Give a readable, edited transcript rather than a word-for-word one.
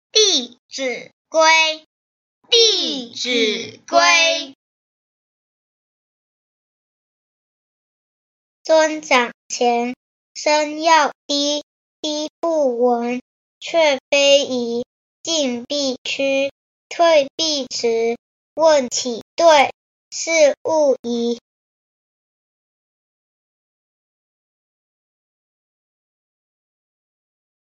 弟子规，弟子规。尊长前，声要低，低不闻，却非宜；进必趋，退必迟。问起对，是勿疑。